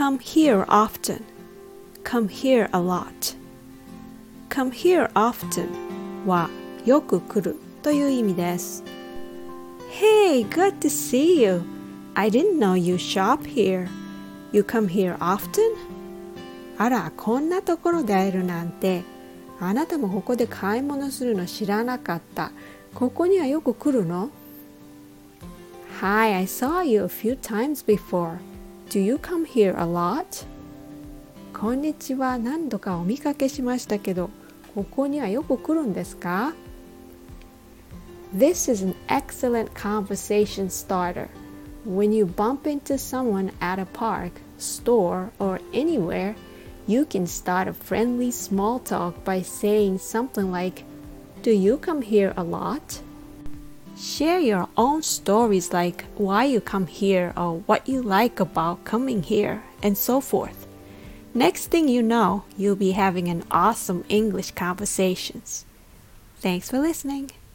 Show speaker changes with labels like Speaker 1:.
Speaker 1: come here often, come here a lot. come here often はよく来るという意味です。Hey, good to see you. I didn't know you shop here. You come here often? あら、こんなところで会えるなんて。あなたもここで買い物するの知らなかった。ここにはよく来るの？ Hi, I saw you a few times before. Do you come here a lot? こんにちは。何度かお見かけしましたけど、ここにはよく来るんですか？ This is an excellent conversation starter. When you bump into someone at a park, store, or anywhere, you can start a friendly small talk by saying something like, Do you come here a lot? Share your own stories like why you come here or what you like about coming here, and so forth. Next thing you know, you'll be having an awesome English conversations. Thanks for listening.